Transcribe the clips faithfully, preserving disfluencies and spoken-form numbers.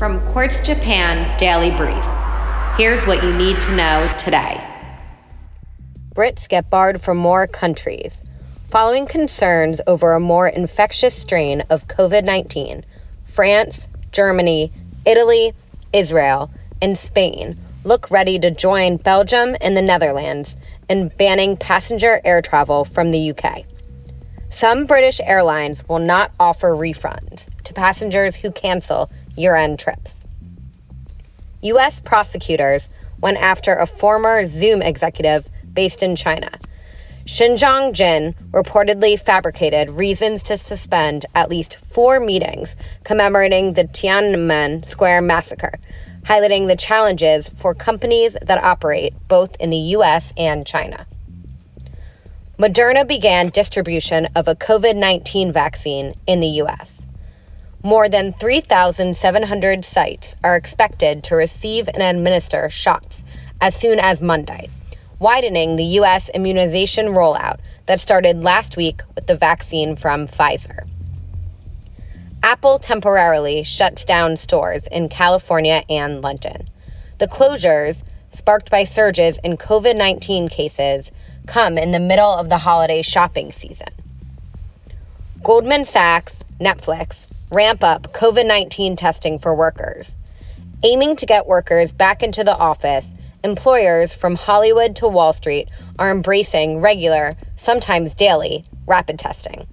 From Quartz Japan Daily Brief, here's what you need to know today. Brits get barred from more countries. Following concerns over a more infectious strain of covid nineteen, France, Germany, Italy, Israel, and Spain look ready to join Belgium and the Netherlands in banning passenger air travel from the U K. Some British airlines will not offer refunds to passengers who cancel year-end trips. U S prosecutors went after a former Zoom executive based in China. Xinjiang Jin reportedly fabricated reasons to suspend at least four meetings commemorating the Tiananmen Square massacre, highlighting the challenges for companies that operate both in the U S and China. Moderna began distribution of a covid nineteen vaccine in the U S. More than three thousand seven hundred sites are expected to receive and administer shots as soon as Monday, widening the U S immunization rollout that started last week with the vaccine from Pfizer. Apple temporarily shuts down stores in California and London. The closures, sparked by surges in covid nineteen cases, come in the middle of the holiday shopping season. Goldman Sachs, Netflix, ramp up covid nineteen testing for workers. Aiming to get workers back into the office, employers from Hollywood to Wall Street are embracing regular, sometimes daily, rapid testing.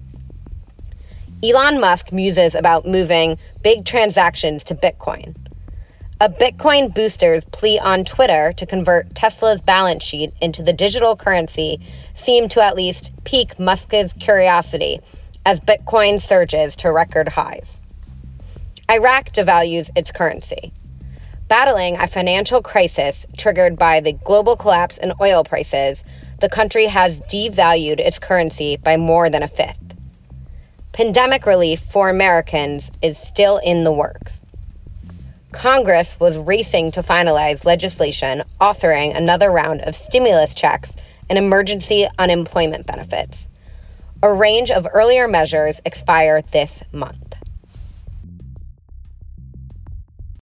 Elon Musk muses about moving big transactions to Bitcoin. A Bitcoin booster's plea on Twitter to convert Tesla's balance sheet into the digital currency seemed to at least pique Musk's curiosity as Bitcoin surges to record highs. Iraq devalues its currency. Battling a financial crisis triggered by the global collapse in oil prices, the country has devalued its currency by more than a fifth. Pandemic relief for Americans is still in the works. Congress was racing to finalize legislation authoring another round of stimulus checks and emergency unemployment benefits. A range of earlier measures expire this month.